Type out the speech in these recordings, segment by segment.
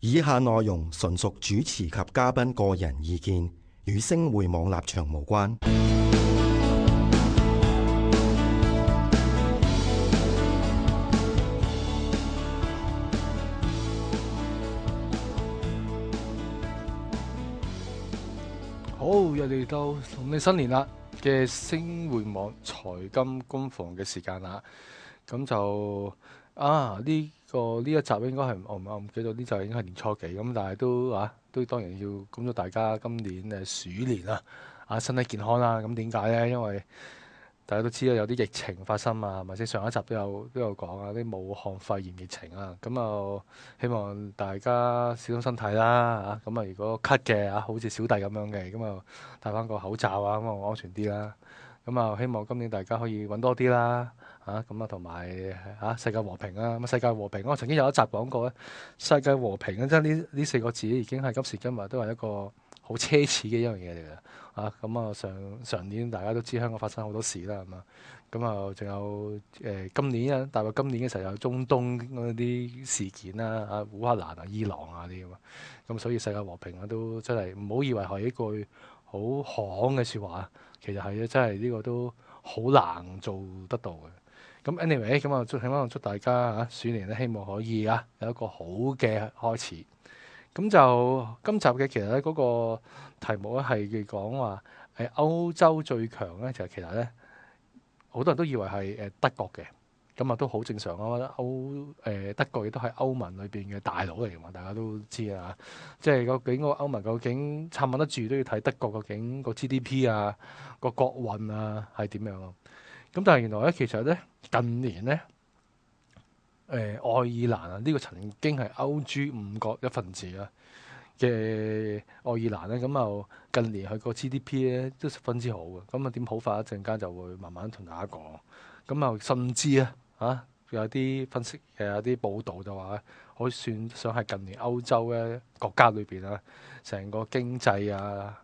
以下內容純屬主持及嘉賓個人意見，與星匯網立場無關。 好，又嚟到農曆新年啦嘅星匯網財金工房嘅時間啦。咁就呢一集應該係我唔記得呢集應該係年初幾咁，但係都當然要恭祝大家今年鼠年身體健康啦。咁點解呢？因為大家都知道有啲疫情發生啊，或者上一集都有講啊，啲武漢肺炎疫情啊，咁啊希望大家小心身體啦嚇。咁啊如果咳嘅好似小弟咁樣嘅，咁啊戴翻個口罩啊，咁啊安全啲啦。咁啊希望今年大家可以揾多啲啦咁啊同埋世界和平啊。咁世界和平，我曾經有一集講過咧，世界和平啊，即係呢四個字已經係今時今日都係一個好奢侈嘅一樣嘢嚟嘅。咁啊上年大家都知香港發生好多事啦，係嘛？咁啊仲有今年啊，大概今年嘅時候有中東嗰啲事件啦，烏克蘭啊、伊朗啊啲咁啊。咁所以世界和平啊都真係唔好以為係一句好行嘅説話，其實係真係呢個都好難做得到嘅。咁 anyway，咁啊希望祝大家鼠年咧，希望可以有一個好嘅開始。咁就今集嘅其實咧嗰個題目咧係講話歐洲最強咧，就其實咧好多人都以為係德國嘅，咁啊都好正常啊。德國亦都係歐盟裏邊嘅大佬嚟嘅嘛，大家都知啊。即係究竟個歐盟究竟撐唔得住，都要睇德國究竟個 GDP 個國運係點樣啊。咁但係原來咧其實咧近年咧愛爾蘭呢個曾經係歐豬五國一份子嘅愛爾蘭咧，咁啊近年佢個 GDP 咧都十分之好嘅。咁啊點好法？一陣間就會慢慢同大家講。咁啊甚至有啲分析有啲報道就話可以算上係近年歐洲嘅國家裏邊成個經濟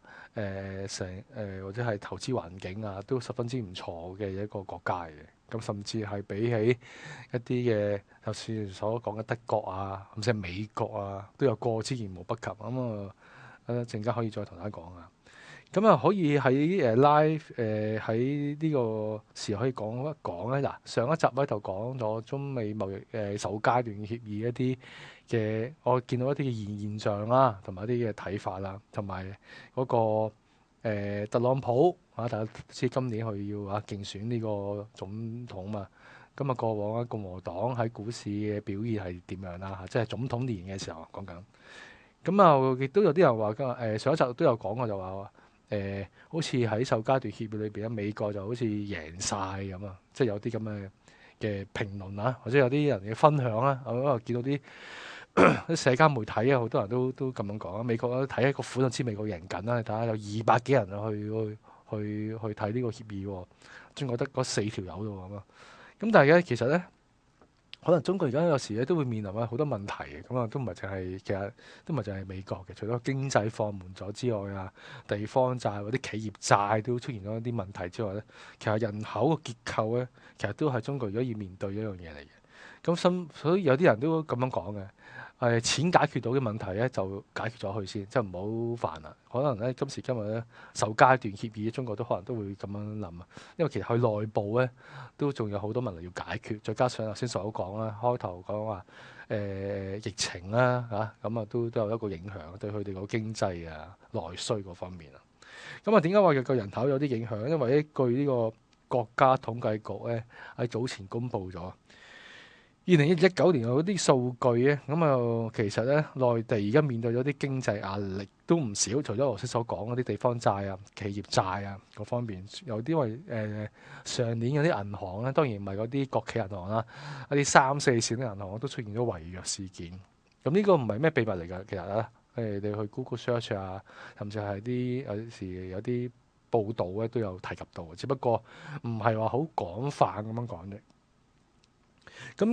或者係投資環境都十分之唔錯嘅一個國家嘅。咁甚至係比起一啲嘅，就算所講嘅德國甚至係美國都有過之而無不及。咁一陣間可以再同大家講咁可以喺live 喺呢個時可以講一講咧。嗱，上一集咧就講咗中美貿易首階段協議一啲嘅，我見到一啲嘅現象啦，同埋一啲嘅睇法啦，同埋嗰個特朗普大家知今年佢要競選呢個總統嘛。咁過往共和黨喺股市嘅表現係點樣啦？即係總統年嘅時候講緊。咁亦都有啲人話上一集都有講過，就話好似喺首階段協議裏邊美國就好似贏晒咁即係有啲咁嘅評論或者有啲人嘅分享我見到啲社交媒體好多人都咁樣講美國睇一個款就知美國贏緊啦。你睇下有200幾人去睇呢個協議，中國得嗰4條友啫咁咁但係咧，其實咧，可能中國而家有時咧都會面臨好多問題嘅。咁都唔係淨係，其實都唔係淨係美國嘅。除咗經濟放緩咗之外地方債或者企業債都出現咗一啲問題之外咧，其實人口嘅結構咧，其實都係中國而家要面對一樣嘢嚟嘅。所以有啲人都咁樣講嘅。錢解決到嘅問題咧，就解決咗佢先，即係唔好煩啦。可能咧今時今日咧，首階段協議，中國都可能都會咁樣諗因為其實佢內部咧都仲有好多問題要解決，再加上頭先所講啦，開頭講話疫情啦咁都有一個影響對佢哋個經濟內需嗰方面點解話個人口有啲影響？因為據呢個國家統計局咧喺早前公布咗。2019年嗰啲數據咧，其實咧內地而家面對咗啲經濟壓力都唔少，除咗頭先所講嗰啲地方債企業債嗰方面，有啲上年有啲銀行咧，當然唔係嗰啲國企銀行啦，一啲3、4線嘅銀行都出現咗違約事件。咁呢個唔係咩秘密嚟㗎，其實你去 Google Search 甚至係有時有啲報道咧都有提及到，只不過唔係話好廣泛咁樣講啫。咁咧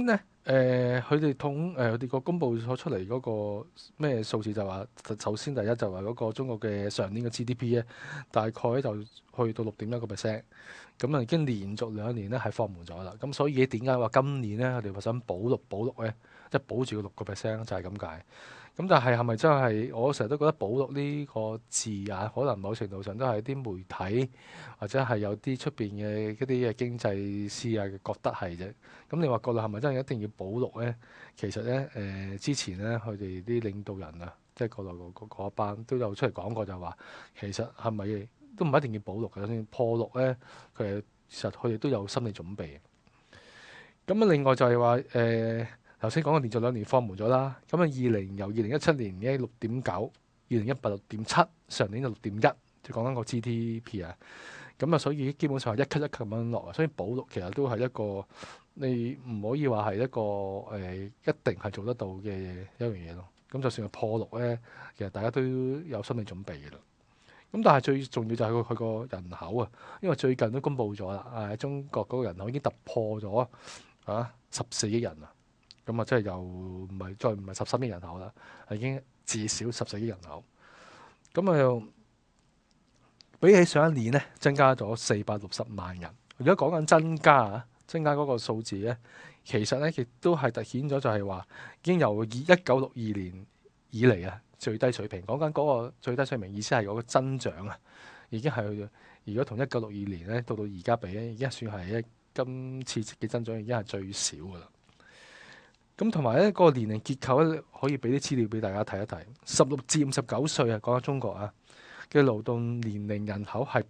佢哋佢哋個公佈咗出嚟嗰個咩數字就話，首先第一就話嗰個中國嘅上年嘅 GDP 咧，大概咧就去到6.1%，咁啊已經連續2年咧係放緩咗啦。咁所以點解話今年咧佢哋話想保六咧，即係保住個6%就係咁解。咁但係係咪真係？我成日都覺得保六呢個字眼，可能某程度上都係啲媒體或者係有啲出邊嘅一啲嘅經濟師啊覺得係啫。咁你話國內係咪真係一定要保六呢？其實呢，之前呢，佢哋啲領導人啊，即係國內嗰一班都有出嚟講過，就話其實係咪都唔一定要保六嘅，就算破六呢，其實佢哋都有心理準備。咁啊，另外就係話頭先講嘅連續2年放緩咗啦。咁啊，由2017年嘅6.9，2018 6.7，上年就6.1，就講緊個 GDP 啊。咁啊，所以基本上係一級一級咁樣落啊。所以保六其實都係一個你唔可以話係一個一定係做得到嘅一樣嘢咯。咁就算係破六咧，其實大家都有心理準備嘅啦。咁但係最重要就係佢個人口啊，因為最近都公布咗啦，中國嗰個人口已經突破咗14億人啊。咁啊，即係又唔係13億人口啦，係已經至少14億人口。咁啊，又比起上一年呢，增加咗460萬人。如果講緊增加嗰個數字呢，其實呢亦都係突顯咗就係話，已經由1962年以嚟啊最低水平。講緊嗰個最低水平意思係嗰個增長啊，已經係如果同1962年呢到而家比咧，已經算係今次嘅增長已經係最少噶啦。咁同埋咧，個年齡結構咧，可以俾啲資料俾大家睇一睇。16至59歲啊，講緊中國啊嘅勞動年齡人口係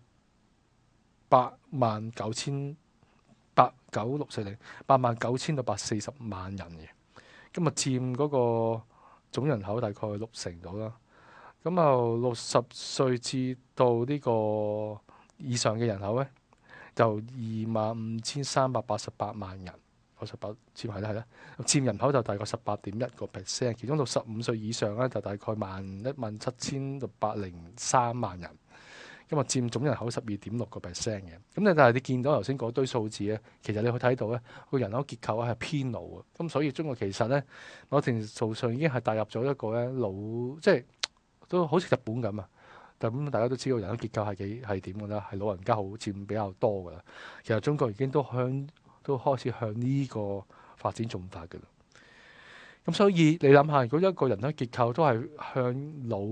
89040，89000到840萬人嘅。咁啊，佔嗰個總人口大概60%到啦。咁啊，60歲至到呢個以上嘅人口咧，就25388萬人。18佔係啦，佔人口就大概18.1%，其中65歲以上咧就大概17000到803萬人，咁啊佔總人口12.6%嘅。咁但係你見到頭先嗰堆數字咧，其實你可以睇到咧，個人口結構係偏老啊。咁所以中國其實咧某程度上已經係踏入咗一個咧老，即係都好似日本咁啊。咁大家都知道人口結構係點㗎啦，係老人家好佔比較多㗎啦。其實中國已經都開始向呢個發展進發嘅啦。咁所以你諗下，如果一個人口結構都係向老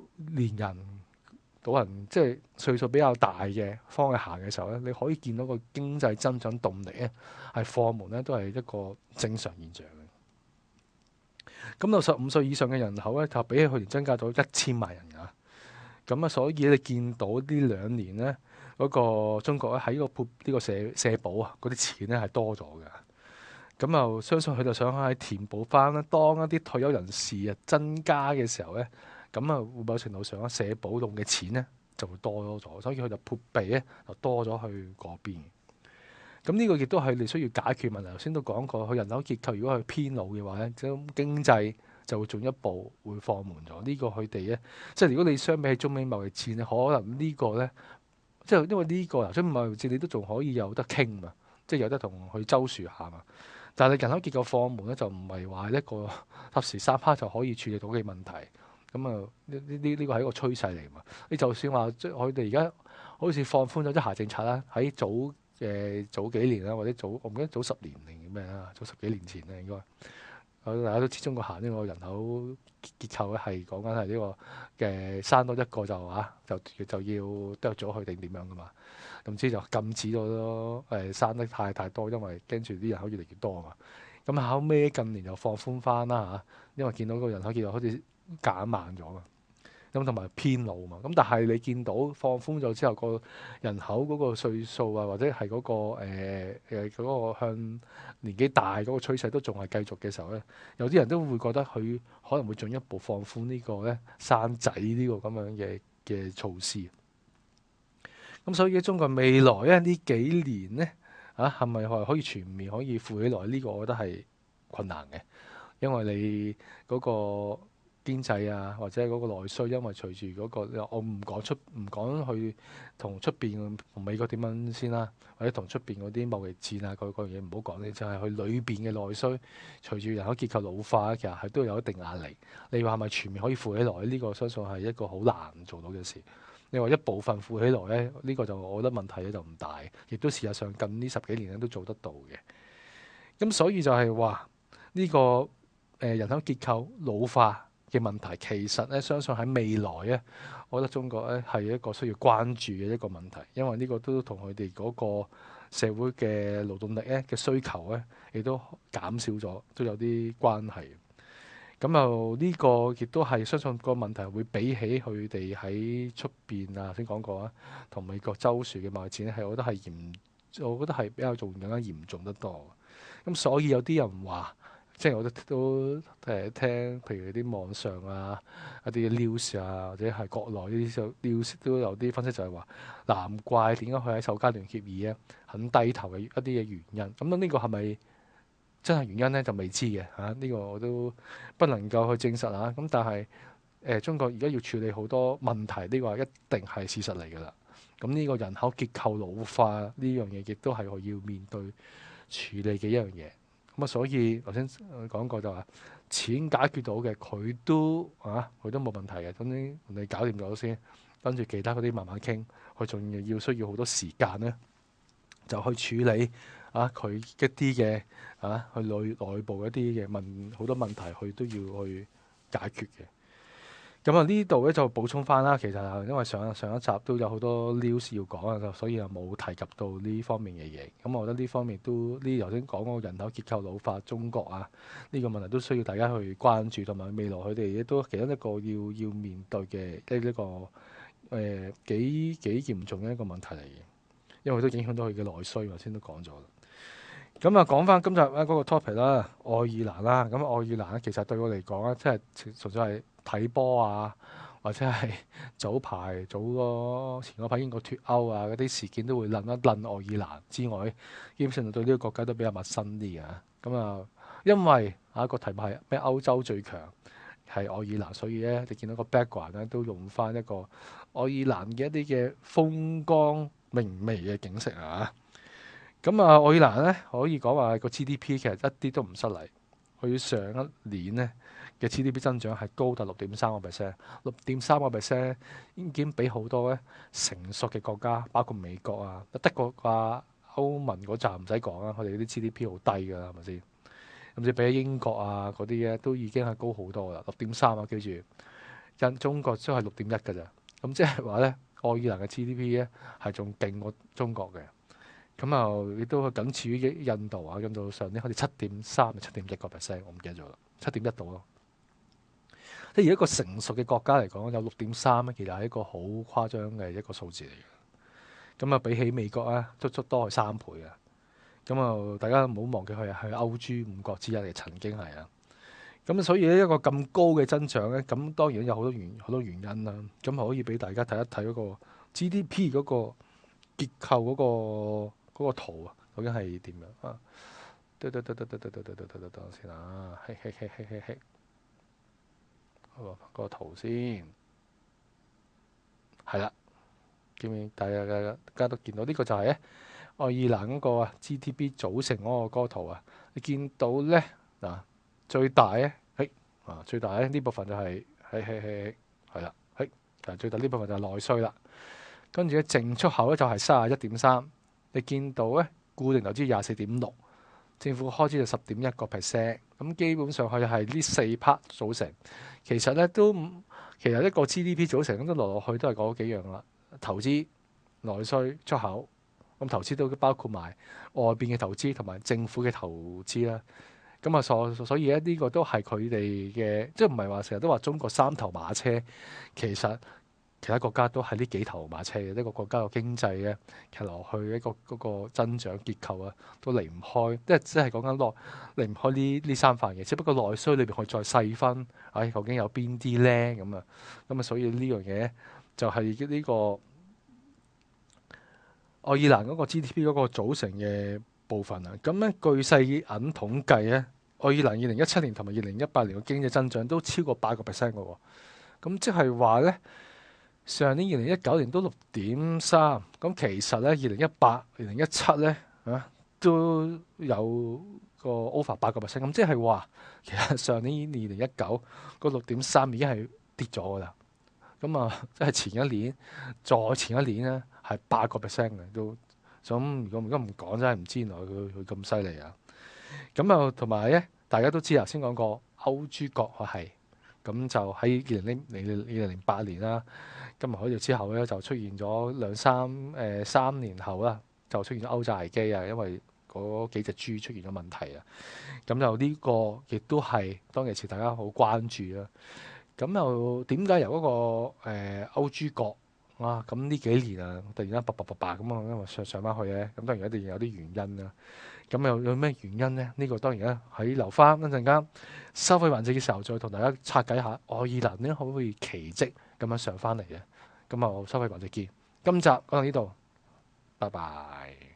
人即係歲數比較大嘅方向行嘅時候咧，你可以見到個經濟增長動力咧係放緩咧，都係一個正常現象嘅。咁到15歲以上嘅人口咧，就比起去年增加咗1000萬人啊。咁啊，所以你見到呢2年咧，嗰個中國咧喺呢個社保啊嗰啲錢咧係多咗嘅。咁啊，相信佢就想喺填補翻啦，當一啲退休人士啊增加嘅時候咧，咁啊會某程度上社保用嘅錢咧就會多咗，所以佢就撥備咧就多咗去嗰邊。咁呢個亦都係你需要解決問題。頭先都講過，佢人口結構如果係偏老嘅話咧，咁經濟就會進一步會放緩咗。呢個佢哋咧，即係如果你相比起中美貿易戰咧，可能呢個咧，即係因為呢個中美貿易戰你都仲可以有得傾嘛，即係有得同佢周旋下嘛。但係你人口結構放緩咧，就唔係話一個霎時三刻就可以處理到嘅問題。咁啊，呢個係一個趨勢嚟嘛。你就算話即係佢哋而家好似放寬咗一孩政策啦，喺早幾年啦，或者我唔記得早10年定咩啦，早10幾年前咧應該。大家都知中國行呢個人口結構咧係講緊係呢個嘅生多一個就要剁咗佢定點樣噶嘛？總之就禁止咗生得太多，因為跟住啲人口越嚟越多啊嘛。咁後尾近年就放寬翻啦嚇，因為見到個人口結構好似減慢咗嘛。咁同埋偏老嘛。咁但係你見到放寬咗之後，個人口嗰個歲數啊，或者係嗰個向年紀大嗰個趨勢都仲係繼續嘅時候咧，有啲人都會覺得佢可能會進一步放寬呢個咧生仔呢個咁樣嘅措施。咁所以中國未來咧呢幾年咧係咪可以全面可以富起來？呢個我覺得係困難嘅，因為你嗰個經濟啊，或者係嗰個內需，因為隨住嗰個我唔講去同出邊同美國點樣先啦，或者同出邊嗰啲貿易戰啊嗰樣嘢唔好講咧，就係佢裏邊嘅內需，隨住人口結構老化，其實係都有一定壓力。你話係咪全面可以富起來？呢個相信係一個好難做到嘅事。你話一部分富起來咧，呢個就我覺得問題咧就唔大，亦都事實上近呢10幾年咧都做得到嘅。咁所以就係話呢個人口結構老化嘅問題，其實咧相信喺未來咧，我覺得中國咧係一個需要關注嘅一個問題，因為呢個都同佢哋嗰個社會嘅勞動力咧嘅需求咧，亦都減少咗，都有啲關係。咁又呢個亦都係相信個問題會比起佢哋喺出邊啊，先講過啊，同美國州樹嘅貿易戰咧，係我覺得係比較更加嚴重得多。咁所以有啲人話，即係我都聽，譬如啲網上啊、一啲 news 啊，或者係國內呢啲 news 都有啲分析就係話，難怪點解佢喺首階段協議咧肯低頭嘅一啲嘅原因。咁呢個係咪真係原因咧？就未知嘅嚇，呢個我都不能夠去證實啊。咁但係中國而家要處理好多問題，呢個一定係事實嚟㗎啦。咁呢個人口結構老化呢樣嘢，亦都係我要面對處理嘅一樣嘢。咁啊，所以頭先講過就話錢解決到嘅，佢都冇問題嘅。總之你搞掂咗先，跟住其他嗰啲慢慢傾。佢仲需要好多時間咧，就去處理佢一啲嘅去內部一啲嘅好多問題，佢都要去解決嘅。咁啊，呢度咧就補充翻啦。其實因為上一集都有好多 news 要講啊，所以又冇提及到呢方面嘅嘢。咁我覺得呢方面都呢頭先講嗰個人口結構老化，中國呢個問題都需要大家去關注，同埋未來佢哋亦都其中一個要面對嘅呢個幾嚴重嘅一個問題嚟嘅，因為都影響到佢嘅內需。頭先都講咗啦。咁啊，講翻今集嗰個 topic 啦，愛爾蘭啦。咁愛爾蘭咧，其實對我嚟講咧，即係純粹係睇波啊，或者係前嗰排英國脱歐啊嗰啲事件都會諗一諗愛爾蘭之外，基本上對呢個國家都比較陌生啲嘅。咁啊，因為個題目係咩歐洲最強係愛爾蘭，所以咧你見到個 background 咧都用翻一個愛爾蘭嘅一啲嘅風光明媚嘅景色啊。咁啊，愛爾蘭咧可以講話個 GDP 其實一啲都唔失禮，佢上一年咧嘅 GDP 增長係高達6.3%，6.3%已經比好多咧成熟嘅國家，包括美國啊、德國啊、歐盟嗰站唔使講啦，佢哋啲 GDP 好低㗎啦，係咪先？甚至比起英國啊嗰啲咧都已經係高好多啦，6.3啊，記住，中國都係6.1㗎咋，咁即係話咧愛爾蘭嘅 GDP 咧係仲勁過中國嘅。咁啊，亦都僅次於印度啊，印度上年好似7.3、7.1%，我唔記得咗啦，7.1度咯。即係而一個成熟嘅國家嚟講，有6.3咧，其實係一個好誇張嘅一個數字嚟嘅。咁啊，比起美國啊，足多係3倍啊。咁啊，大家唔好忘記佢係歐豬5國之一嚟，曾經係啊。咁所以呢一個咁高嘅增長咧，咁當然有好多原因啦。咁可以俾大家睇一睇嗰個 GDP 嗰個結構嗰個圖啊，究竟係點樣啊？等先啊，嗰個圖先係啦，見唔見？大家都見到呢個就係咧愛爾蘭嗰個 GDP 組成嗰個圖啊。你見到咧嗱，最大咧最大咧呢部分就係啦，最大呢部分就係內需啦。跟住咧淨出口咧就係31.3%，你見到咧固定投資24.6%，政府開支就10.1%。咁基本上佢係呢4 part 組成。其實一個 GDP 組成咁都落去都係嗰幾樣啦，投資、內需、出口。咁投資都包括埋外邊嘅投資同埋政府嘅投資啦。咁啊，所以咧呢個都係佢哋嘅，即係唔係話成日都話中國3頭馬車，其實其他國家都係呢幾頭馬車嘅。一個國家嘅經濟咧，騎落去一個嗰個增長結構啊，都離唔開，即係講緊離唔開呢3塊嘢。只不過內需裏邊可以再細分，究竟有邊啲咧？咁啊，所以呢樣嘢就係呢個愛爾蘭嗰個 GDP 嗰個組成嘅部分啊。咁咧據世銀統計咧， 愛爾蘭2017年同埋2018年嘅經濟增長都超過8%嘅喎。咁即係話呢，上年2019年都6.3，咁其實呢2018、2017呢都有個 over 8%，咁即係話其實上年2019個6.3已經係跌咗㗎啦。咁啊，即係前一年再前一年呢係8%嘅都。咁如果唔講，真係唔知原來佢咁犀利啊！咁啊，同埋咧，大家都知頭先講過歐豬國係咁就喺2008年啦，金融海嘯之後咧就出現咗3年後啦，就出現咗歐債危機啊，因為嗰幾隻豬出現咗問題啊。咁就呢個亦都係當其時大家好關注啦。咁又點解由嗰個歐豬國咁呢幾年啊，突然間叭咁啊，因為上翻去咧，咁當然一定有啲原因啦。咁有咩原因呢？呢個當然咧喺留翻一陣間收費環節嘅時候，再同大家拆解下愛爾蘭咧可唔可以奇蹟咁樣上翻嚟嘅。咁啊，收費環節見。今集講到呢度，拜拜。